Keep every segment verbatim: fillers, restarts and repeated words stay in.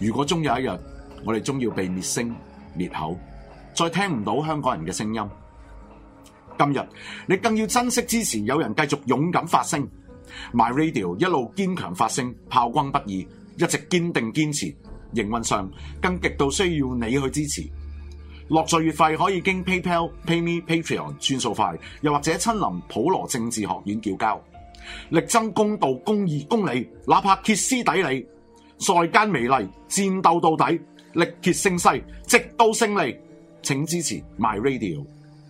如果終有一日，我哋終要被滅聲滅口，再聽唔到香港人嘅聲音，今日你更要珍惜支持有人繼續勇敢發聲 ，My Radio 一路堅強發聲，炮轟不已，一直堅定堅持。營運上更極度需要你去支持。落座月費可以經 PayPal、PayMe、Patreon 轉數快，又或者親臨普羅政治學院叫交，力爭公道、公義、公理，哪怕歇斯底里，在間美麗，戰鬥到底，力竭勝勢，直到勝利。請支持 My Radio。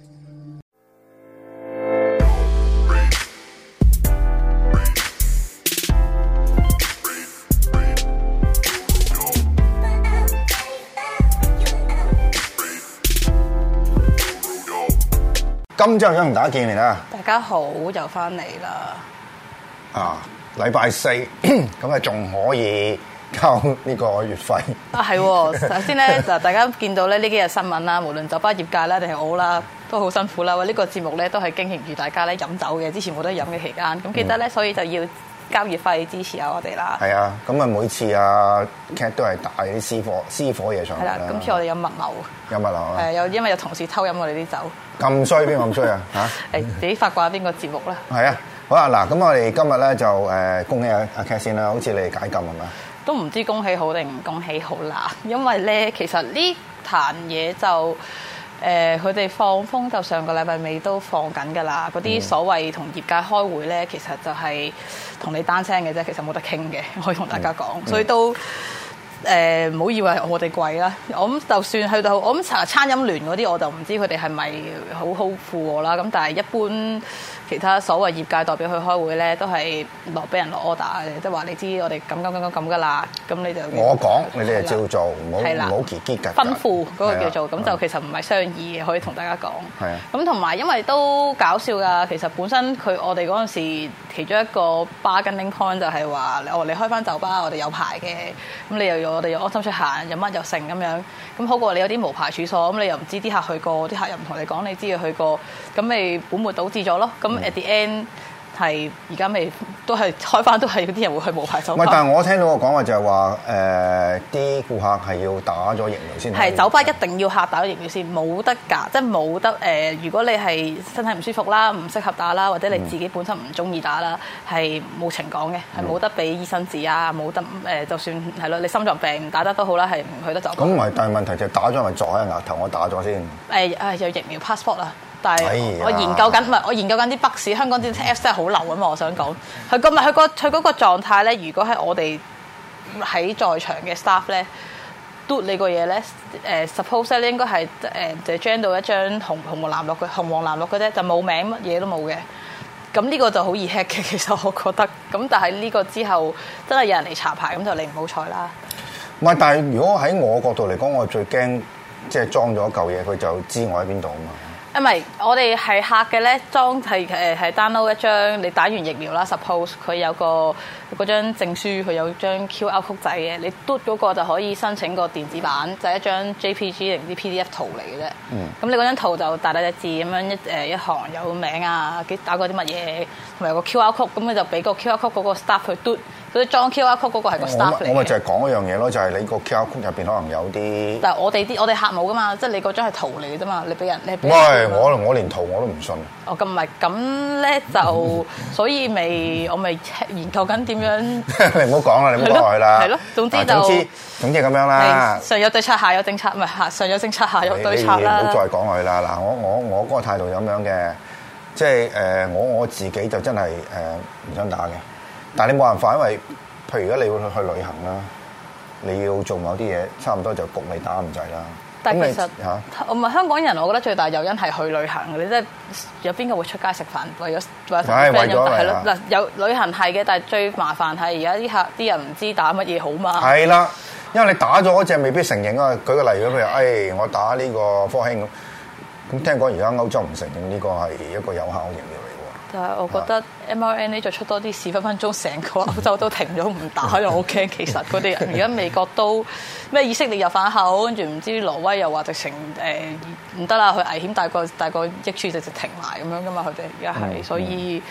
今朝想同大家見面啦！ 大家好，又翻嚟啦！ 啊，禮拜四咁啊，仲可以交呢個月費啊，係。首先咧，就大家見到咧呢幾日新聞啦，無論酒吧業界啦，定係我啦，都好辛苦啦。喂，呢個節目咧都係經營住大家咧飲酒嘅，之前冇得飲嘅期間，咁記得咧，所以就要交月費支持下我哋啦。係啊，咁啊每次啊 Cat 都係帶啲私貨私貨嘢上嚟啦。 係啦，今次我哋有密謀。 有密謀啊！ 係有，因為有同事偷飲我哋啲酒。 咁衰邊個咁衰啊？嚇！ 誒，自己發掛邊個節目啦？ 係啊，好啊嗱，咁我哋今日咧就誒恭喜阿阿 Cat 先啦，好似你解禁係咪？ 都唔知恭喜好定唔恭喜好啦，因為咧其實呢壇嘢就誒佢哋放風就上個禮拜尾都放緊㗎啦，嗰啲所謂同業界開會咧，其實就係同你單聲嘅啫，其實冇得傾嘅，可以同大家講，嗯、所以都。誒唔好以為我哋貴啦，我諗就算去到我諗茶餐飲聯嗰啲，我就唔知佢哋係咪好好附和啦。咁但係一般其他所謂業界代表去開會咧，都係落俾人落 order 嘅，即係話你知我哋咁咁咁咁咁噶啦，咁你就我講你哋就照做，唔好唔好結結㗎。 吩咐嗰個叫做咁就其實唔係商議嘅，可以同大家講。係啊。咁同埋因為都搞笑㗎，其實本身佢我哋嗰陣時其中一個 bargaining point 就係話，哦你開翻酒吧，我哋有牌嘅，咁你又要。我哋又安心出行，有乜又剩咁樣，咁好過你有啲無牌處所，咁你又唔知啲客去過，啲客又唔同你講，你知佢去過，咁咪本末倒置咗咯。咁 at the end 係而家咪都係開翻，都係嗰啲人會去無牌酒吧。 唔係，但係我聽到個講話就係話，誒啲顧客係要打咗疫苗先。 係酒吧一定要客打咗疫苗先，冇得㗎，即係冇得誒、呃。如果你係身體唔舒服啦，唔適合打啦，或者你自己本身唔中意打啦，係冇情講嘅，係冇得俾醫生紙啊，冇得誒、呃，就算係咯，你心臟病唔打得都好啦，係唔去得酒吧。咁唔係， 但係問題就係打咗係咪撞喺額頭？我打咗先。誒、 呃、誒，有疫苗 passport 啦。但係我研究緊，唔係我研究緊啲北市香港啲 Apps 真係好流啊嘛！我想講，佢個唔係佢個佢嗰個狀態咧。如果係我哋喺在，在場嘅 staff 咧，嘟你個嘢咧，誒 suppose 咧應該係誒就 gen 到一張紅紅黃藍綠嘅紅黃藍綠嘅啫，就冇名乜嘢都冇嘅。咁呢個就好易 hack 嘅，其實我覺得。咁但係呢個之後真係有人嚟查牌，咁就你唔好彩啦。 唔係，但係如果喺我角度嚟講，我最驚即係裝咗一嚿嘢，佢就知我喺邊度啊嘛。 唔係，我哋係客嘅咧，裝係誒係 download 一張，你打完疫苗啦 ，suppose 佢有個嗰張證書，佢有張 Q R code 仔嘅，你嘟嗰個就可以申請個電子版，就係、是、一張 J P G 定啲 P D F 圖嚟嘅啫。嗯。咁你嗰張圖就大大隻字咁樣一誒一行有名啊，幾打過啲乜嘢，同埋有個 Q R code，咁你就俾個 Q R code 嗰個 staff 去嘟。嗰啲裝 Q R code 嗰個係個 staff 嚟嘅。我咪就係講一樣嘢咯，就係、是、你個 Q R code 入邊可能有啲。但係我哋啲我哋客冇噶嘛，即係你嗰張係圖嚟嘅啫嘛，你俾人你俾。喂， 我我連圖我都唔信。 哦，咁唔係咁咧就，所以咪我咪研究緊點樣。 你唔好講啦，你唔好講佢啦。係咯，總之就總之總之咁樣啦。 上有對策，下有政策，唔係下上有政策，下有對策啦。 唔好再講佢啦。嗱，我我我嗰個態度咁樣嘅，即係誒我我自己就真係誒唔想打嘅，但係你冇辦法，因為。譬如如果你要去旅行啦，你要做某啲嘢，差唔多就焗你打唔滯啦。 但係其實嚇，我唔係香港人，我覺得最大誘因係去旅行嘅。你即係有邊個會出街食飯為咗為咗同 friend 飲？係咯，嗱有旅行係嘅，但係最麻煩係而家啲客啲人唔知打乜嘢好嘛。係啦， 因為你打咗嗰隻未必承認啊。舉個例，如果譬如誒、哎、我打呢個科興咁，咁聽講而家歐洲唔承認呢個係一個有效嘅疫苗。 但係我覺得 M R N A 再出多啲事，分分鐘成個歐洲都停咗唔打，又好驚。其實佢哋而家美國都咩以色列又反口，跟住唔知挪威又話直情誒唔得啦，佢危險大過大過益處，直直停埋咁樣噶嘛。佢哋而家係，所以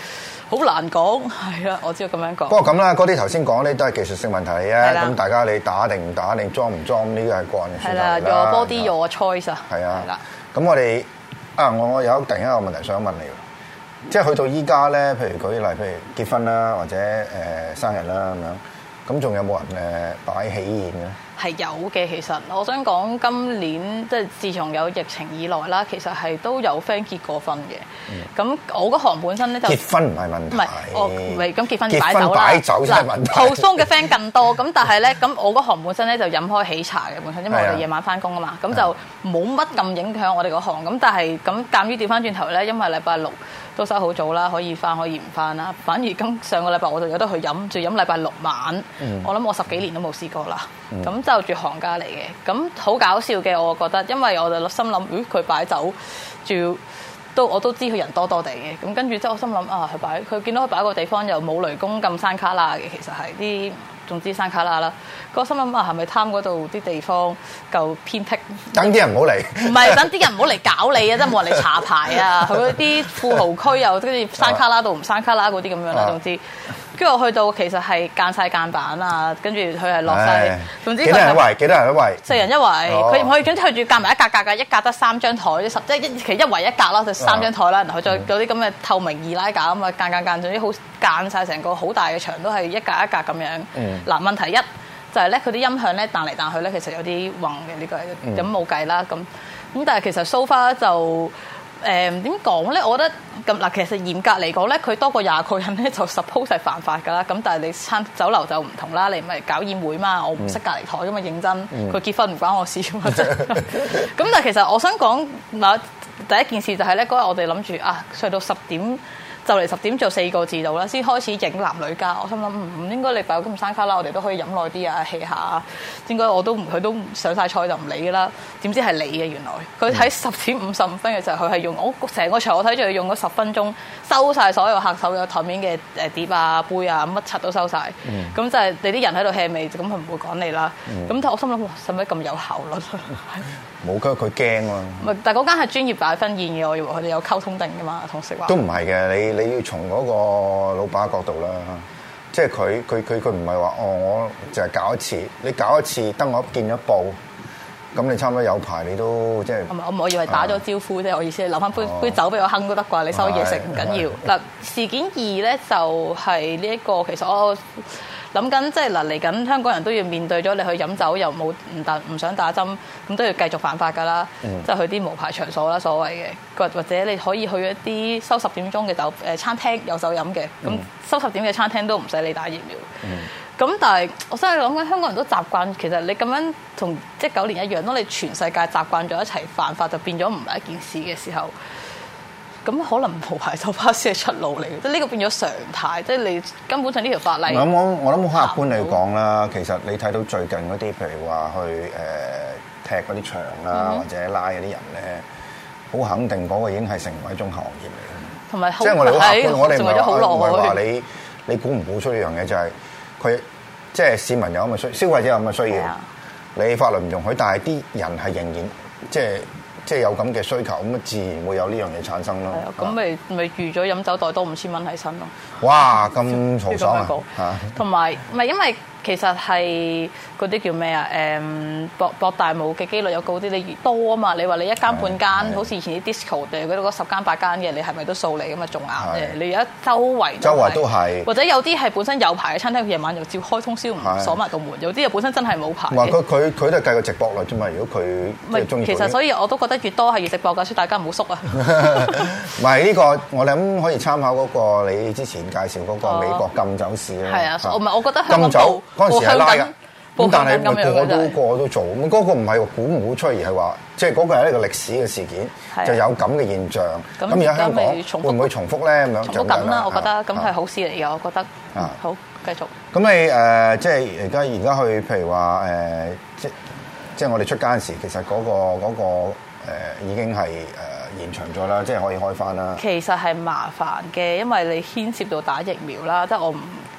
好難講，係啦，我知道咁樣講。 不過咁啦，嗰啲頭先講咧都係技術性問題嚟嘅，咁的大家你打定唔打定裝唔裝呢個係個人嘅選擇啦。 係啦，your body your choice 啊。 係啊。 係啦。 咁我哋啊，我我有突然間有個問題想問你，即係去到依家咧，譬如舉例，譬如結婚啦，或者誒、呃、生日啦咁樣，咁仲有冇人誒擺喜宴嘅？ 係有嘅，其實我想講今年即係自從有疫情以來啦，其實係都有 friend 結過婚嘅。咁、嗯、我嗰行本身咧就結婚唔係問題， 唔係我唔係咁結婚擺酒啦，擺酒先係問題。 後鬆嘅 friend 更多，咁但係咧咁我嗰行本身咧就飲開喜茶嘅本身，因為我哋夜晚翻工啊嘛，咁就冇乜咁影響我哋嗰行。咁但係咁鑑於調翻轉頭咧，因為禮拜六都收好早啦，可以翻可以唔翻啦。反而今上個禮拜我就有得去飲，仲飲禮拜六晚。嗯、我諗我十幾年都冇試過啦。咁、嗯、就住行家嚟嘅，咁好搞笑嘅，我覺得，因為我就心諗，咦佢擺酒，仲要都我都知佢人多多地嘅，咁跟住之後我心諗啊，佢擺佢見到佢擺個地方又冇雷公咁山卡拉嘅，其實係啲總之山卡拉啦。個心諗啊，係咪貪嗰度啲地方夠偏僻？ 等啲人唔好嚟。唔係等啲人唔好嚟搞你啊！真係冇人嚟查牌啊！佢嗰啲富豪區又跟住山卡拉到唔山卡拉嗰啲咁樣啦，總之。跟住我去到其實係間晒間板啊，跟住佢係落晒，總之幾多人一圍？幾多人一圍？ 四人一圍，佢唔可以總之佢仲要夾埋一格格嘅，一格得三張台，十即係一其實一圍一格啦，就三張台啦，然後再有啲咁嘅透明易拉架咁啊，間間間總之好間晒成個好大嘅牆都係一格一格咁樣。嗱、嗯、問題一就係咧，佢啲音響咧彈嚟彈去咧，其實有啲暈嘅呢個，咁冇計啦。咁咁但係其實 so far 就。誒點講咧？我覺得咁嗱，其實嚴格嚟講咧，佢多過廿個人咧就 suppose 係犯法㗎啦。咁但係你餐酒樓就唔同啦，你唔係搞宴會嘛，我唔識隔離台㗎嘛，認真。佢、嗯、結婚唔關我事㗎嘛。咁但係其實我想講嗱，第一件事就係咧，嗰日我哋諗住啊，睡到十點。就嚟十點做四個字度啦，先開始影男女家。我心諗唔應該你擺咁山卡啦，我哋都可以飲耐啲啊，hea 下。應該我都唔佢都上晒菜就唔理㗎啦。點知係你嘅原來，佢喺十點五十五分嘅時候，佢係用我成個場我睇住佢用咗十分鐘收晒所有客手嘅台面嘅誒碟啊杯啊乜柒都收晒。咁、嗯、就係你啲人喺度 hea 味，咁佢唔會趕你啦。咁、嗯、但我心諗使唔使咁有效率？ 冇㗎，佢驚啊！ 唔但係嗰間係專業擺婚宴嘅，我以為佢哋有溝通定㗎嘛，同食話。 都唔係嘅，你你要從嗰個老闆角度啦，即係佢佢佢佢唔係話哦，我淨係搞一次，你搞一次得我見咗報，咁你差唔多有排你都即係。唔係，我我以為打咗招呼啫，啊、我意思係留翻杯、哦、杯酒俾我哼都得啩，你收嘢食唔緊要。嗱，事件二咧就係呢一個，其實我。諗緊即係嗱，嚟緊香港人都要面對咗你去飲酒又冇唔打唔想打針，咁都要繼續犯法㗎啦。嗯、即係去啲無牌場所啦，所謂嘅，或或者你可以去一啲收十點鐘嘅酒誒餐廳有酒飲嘅，咁、嗯、收十點嘅餐廳都唔使你打疫苗。咁、嗯、但係我真係諗緊香港人都習慣，其實你咁樣同即係九年一樣，當你全世界習慣咗一齊犯法，就變咗唔係一件事嘅時候。咁可能無牌酒吧先係出路嚟嘅，即係呢個變咗常態，即係你根本上呢條法例。我我我諗好客觀嚟講啦，其實你睇到最近嗰啲，譬如話去誒、呃、踢嗰啲場啦，嗯、或者拉嗰啲人咧，好肯定嗰個已經係成為一種行業嚟嘅。同埋即係我哋好客觀，我哋唔係唔係話你你估唔估出呢樣嘢，就係佢即係市民有咁嘅需，消費者有咁嘅需要，你法律唔容許，但係啲人係仍然即係。即係有咁嘅需求，咁啊自然會有呢樣嘢產生咯。係啊，咁咪咪預咗飲酒袋多五千蚊喺身咯。哇！咁豪爽啊！同埋唔係因為其實係嗰啲叫咩啊？誒博博大霧嘅機率有高啲，你越多啊嘛。你話你一間半間，好似以前啲 disco 嘅嗰十間八間嘅，你係咪都掃你咁啊？仲硬嘅，你而家周圍周圍都係，或者有啲係本身有牌嘅餐廳，佢夜晚又照開通宵唔鎖埋道門；有啲又本身真係冇牌。唔係佢佢佢都係計個直播率啫嘛。如果佢即係中意，其實所以我都覺得越多係越直播㗎，所以大家唔好縮啊。唔係呢個，我諗可以參考嗰個你之前介紹嗰個美國禁酒史咧。係啊，我唔係我覺得禁酒嗰陣時係拉㗎。咁但係個個都個個都做，咁、那、嗰個唔係估唔估出，而係話即係嗰個係一個歷史嘅事件，的就有咁嘅現象。咁而家香港會唔會重複咧？咁樣重複緊啦，我覺得咁係好事嚟嘅，我覺得。啊，好，繼續。咁你誒、呃、即係而家而家去，譬如話誒、呃、即即係我哋出街嗰時，其實嗰、那個嗰、那個呃、已經係誒、呃、延長咗啦，即係可以開翻啦。其實係麻煩嘅，因為你牽涉到打疫苗啦，即係我唔。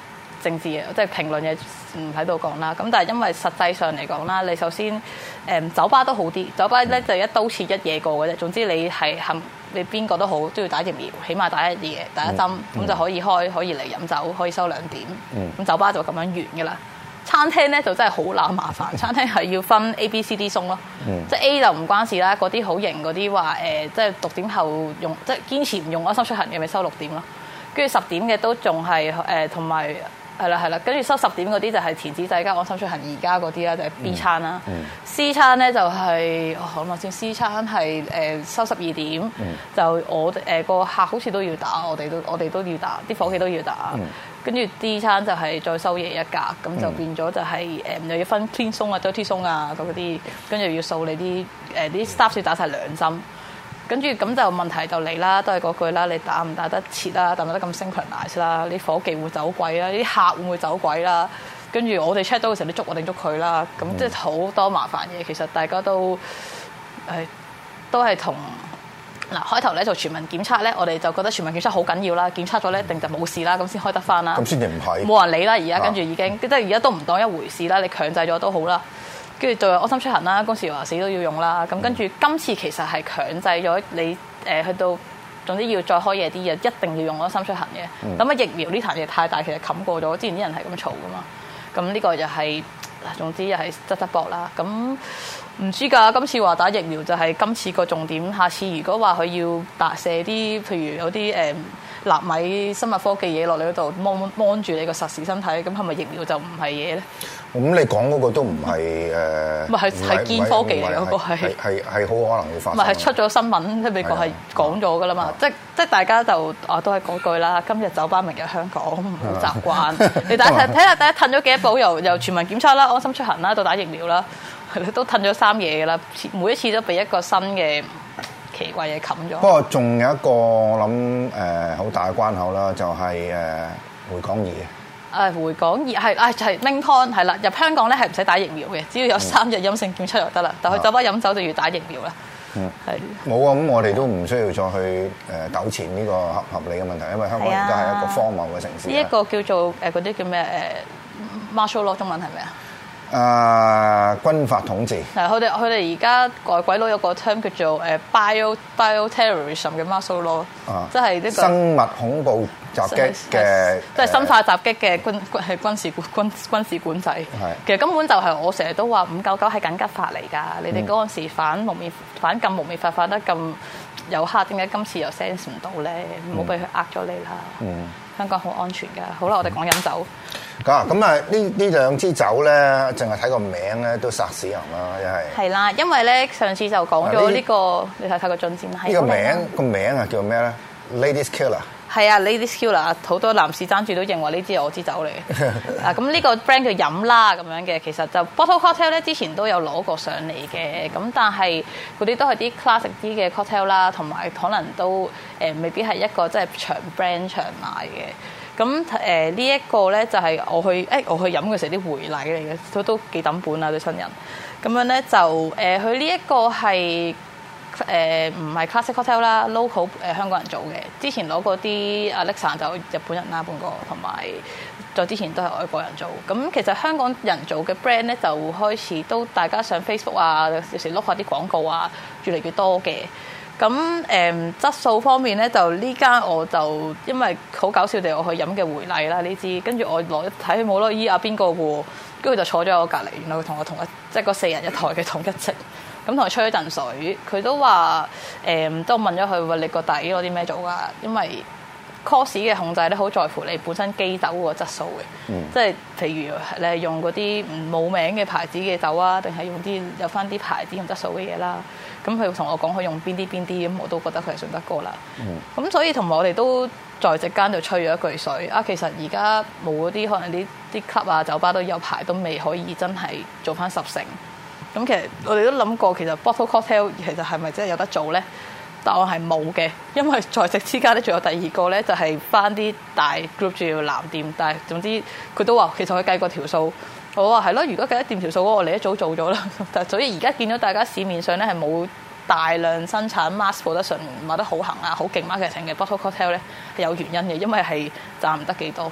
政治嘢，即係評論嘢唔喺度講啦。咁但係因為實際上嚟講啦，你首先誒、嗯、酒吧都好啲，酒吧咧就一刀切一嘢過嘅啫。總之你係肯你邊個都好都要打疫苗，起碼打一嘢第一針，咁、嗯、就可以開可以嚟飲酒，可以收兩點。咁、嗯、酒吧就咁樣完㗎啦。餐廳咧就真係好乸麻煩，餐廳係要分 A、B、C、D 餸咯，嗯、即係 A 就唔關事啦，嗰啲好型嗰啲話誒，即係六點後用，即係堅持唔用安心出行嘅咪收六點咯，跟住十點嘅都仲係誒同埋係啦係啦，跟住收十點嗰啲就係填紙仔加安心出行而家嗰啲啦，就係 B 餐啦、嗯嗯、C 餐咧就係、是、我諗下先 C 餐係誒收十二點，嗯、就我誒個、呃、客好似都要打，我哋都我哋都要打，啲伙計都要打。嗯跟住 D 餐就係再收夜一格，咁就變咗就係誒又要分 clean 鬆啊、dirty 鬆啊嗰啲，跟住要掃你啲誒啲 staff 要打晒兩針，跟住咁就問題就嚟啦，都係嗰句啦，你打唔打得切啦，打唔打得咁 synchronize 啦，啲伙計會走鬼啦，啲客會唔會走鬼啦？跟住我哋 check 到嘅時候，你捉我定捉佢啦，咁即係好多麻煩嘢。其實大家都誒、呃、都係同。嗱，開頭咧做全民檢測咧，我哋就覺得全民檢測好緊要啦，檢測咗咧一定就冇事啦，咁先開得翻啦。咁先至唔係，冇人理啦，而家跟住已經，即係而家都唔當一回事啦。你強制咗都好啦，跟住就有安心出行啦，嗰時話死都要用啦。咁跟住今次其實係強制咗你誒去到，總之要再開夜啲嘢，一定要用安心出行嘅。咁啊、嗯、疫苗呢壇嘢太大，其實冚過咗，之前啲人係咁嘈噶嘛。咁呢個又係，總之又係側側膊啦。咁。唔知㗎，今次話打疫苗就係今次個重點。下次如果話佢要打射啲，譬如有啲誒納米生物科技嘢落你嗰度，望望住你個實時身體，咁係咪疫苗就唔係嘢咧？咁你講嗰個都唔係誒，唔係係堅科技嚟嗰個係係係好可能會發生。唔係係出咗新聞，即係美國係講咗㗎啦嘛。即即大家就啊都係嗰句啦。今日酒吧，明日香港，唔好習慣。你大家睇睇下，大家褪咗幾多步？由由全民檢測啦、安心出行啦，到打疫苗啦。都褪咗三嘢㗎啦，每一次都俾一個新嘅奇怪嘢冚咗。不過仲有一個我諗誒好大嘅關口啦，就係誒回港易嘅。誒回港易係啊，就係 main point 係啦，入香港咧係唔使打疫苗嘅，只要有三日陰性檢測就得啦。但去酒吧飲酒就要打疫苗啦。嗯，係冇啊，咁我哋都唔需要再去誒糾纏呢個合合理嘅問題，因為香港而家係一個荒謬嘅城市。呢一個叫做誒嗰啲叫咩誒 martial law 中文係咪啊？誒、uh, 軍法統治係佢哋佢哋而家外鬼佬有個 term 叫做誒 bio bioterrorism 嘅 martial law，啊、即係呢個生物恐怖襲擊嘅，即係生化襲擊嘅軍係軍事軍軍事管制。係其實根本就係我成日都話五九九係緊急法嚟㗎，嗯、你哋嗰陣時反蒙面反禁蒙面法反得咁有黑，點解今次又 sense 唔到咧？唔好俾佢呃咗你啦。嗯，香港好安全㗎。好啦，我哋講飲酒。咁啊，咁啊，呢呢兩支酒咧，淨係睇個名咧都殺死人啦，一係。係啦，因為咧上次就講咗呢個，你睇睇個進展係。呢個名個名啊叫咩咧 ？Ladies Killer。係啊 ，Ladies Killer，好多男士爭住都認為呢支係我支酒嚟嘅。啊，咁呢個 brand 叫飲啦咁樣嘅，其實就 Bottle Cocktail 咧之前都有攞過上嚟嘅，咁但係嗰啲都係啲 classic 啲嘅 cocktail 啦，同埋可能都誒、呃、未必係一個即係長 brand 長賣嘅。咁誒呢一個咧就係我去誒、欸、我去飲嘅時候啲回禮嚟嘅，都都幾抌本啊對新人。咁樣咧就誒佢呢一個係誒唔係 classic cocktail 啦 ，local 誒香港人做嘅。之前攞過啲 Alexa 就日本人啦半個，同埋再之前都係外國人做。咁其實香港人做嘅 brand 咧就開始都大家上 Facebook 啊，有時碌下啲廣告啊，越嚟越多嘅。咁誒、嗯、質素方面咧，就呢間我就因為好搞笑地我去飲嘅回禮啦呢支，跟住我攞睇佢冇咯，依阿邊個喎，跟住就坐咗喺我隔離，原來佢同我同一即係嗰四人一台嘅同一席，咁同佢吹咗陣水，佢都話誒都問咗佢話你個底攞啲咩做㗎？因為 cost 嘅控制咧好在乎你本身基酒個質素嘅，嗯、即係譬如你係用嗰啲冇名嘅牌子嘅酒啊，定係用啲有翻啲牌子同質素嘅嘢啦。咁佢同我講佢用邊啲邊啲，咁我都覺得佢係信得過啦。咁、嗯、所以同埋我哋都在席間就吹咗一句水啊。其實而家冇嗰啲可能啲啲 club 啊酒吧都有牌都未可以真係做翻十成。咁其實我哋都諗過，其實 bottle cocktail 其實係咪真係有得做咧？答案係冇嘅，因為在席之間咧仲有第二個咧，就係翻啲大 group 仲要藍店，但係總之佢都話其實佢計過條數。我話係咯，如果計得掂條數，我哋一早做咗啦。但係所以而家見到大家市面上咧係冇大量生產 mass production 賣得好行啊、好勁 marketing 嘅 bottle cocktail 咧係有原因嘅，因為係賺唔得幾多。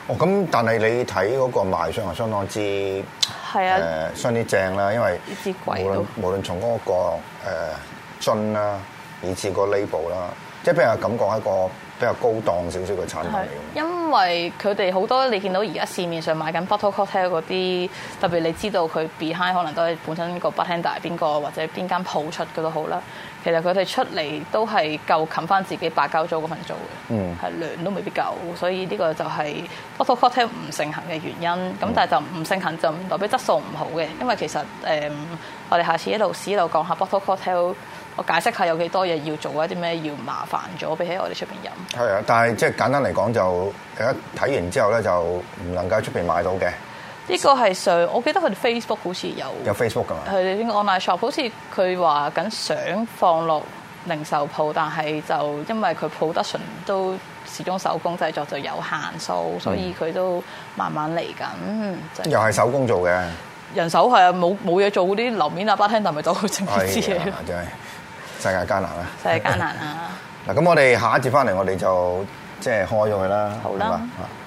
哦，咁但係你睇嗰個賣相係相當之係啊， 誒相當正啦，因為呢支無論貴都無論從嗰個誒樽啦，以至個 label 啦，即係俾人感覺係一個比較高檔少少嘅產品嚟係嘅。 因為佢哋好多你見到而家市面上買緊 bottle cocktail 嗰啲，特別你知道佢 behind 可能都係本身個 bartender 係邊個或者邊間鋪出嘅都好啦。其實佢哋出嚟都係夠冚翻自己白膠租嗰份做嘅， 嗯， 係量都未必夠，所以呢個就係 bottle cocktail 唔盛行嘅原因。咁、嗯、但係就唔盛行就唔代表質素唔好嘅，因為其實誒、嗯、我哋下次一路試一路講下 bottle cocktail。我解釋下有幾多嘢要做，一啲咩要麻煩咗，比起我哋出邊飲。係啊，但係即係簡單嚟講，就一睇完之後咧，就唔能夠喺出邊買到嘅。 呢個係上，我記得佢哋 Facebook 好似有。 有 Facebook 㗎嘛？ 佢哋呢個 online shop 好似佢話緊想放落零售鋪，但係就因為佢 production 都始終手工製作就有限數，所以佢都慢慢嚟緊。嗯就係、 又係手工做嘅。 人手係啊，冇冇嘢做嗰啲樓面啊 bartender 咪走去整呢啲嘢。 真係世界艱難啊！ 世界艱難啊！ 嗱，咁我哋下一節翻嚟，我哋就即係開咗佢啦。 好啦。 好